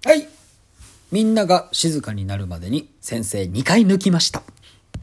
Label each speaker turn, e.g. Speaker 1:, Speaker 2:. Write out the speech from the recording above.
Speaker 1: はい。みんなが静かになるまでに先生2回抜きました。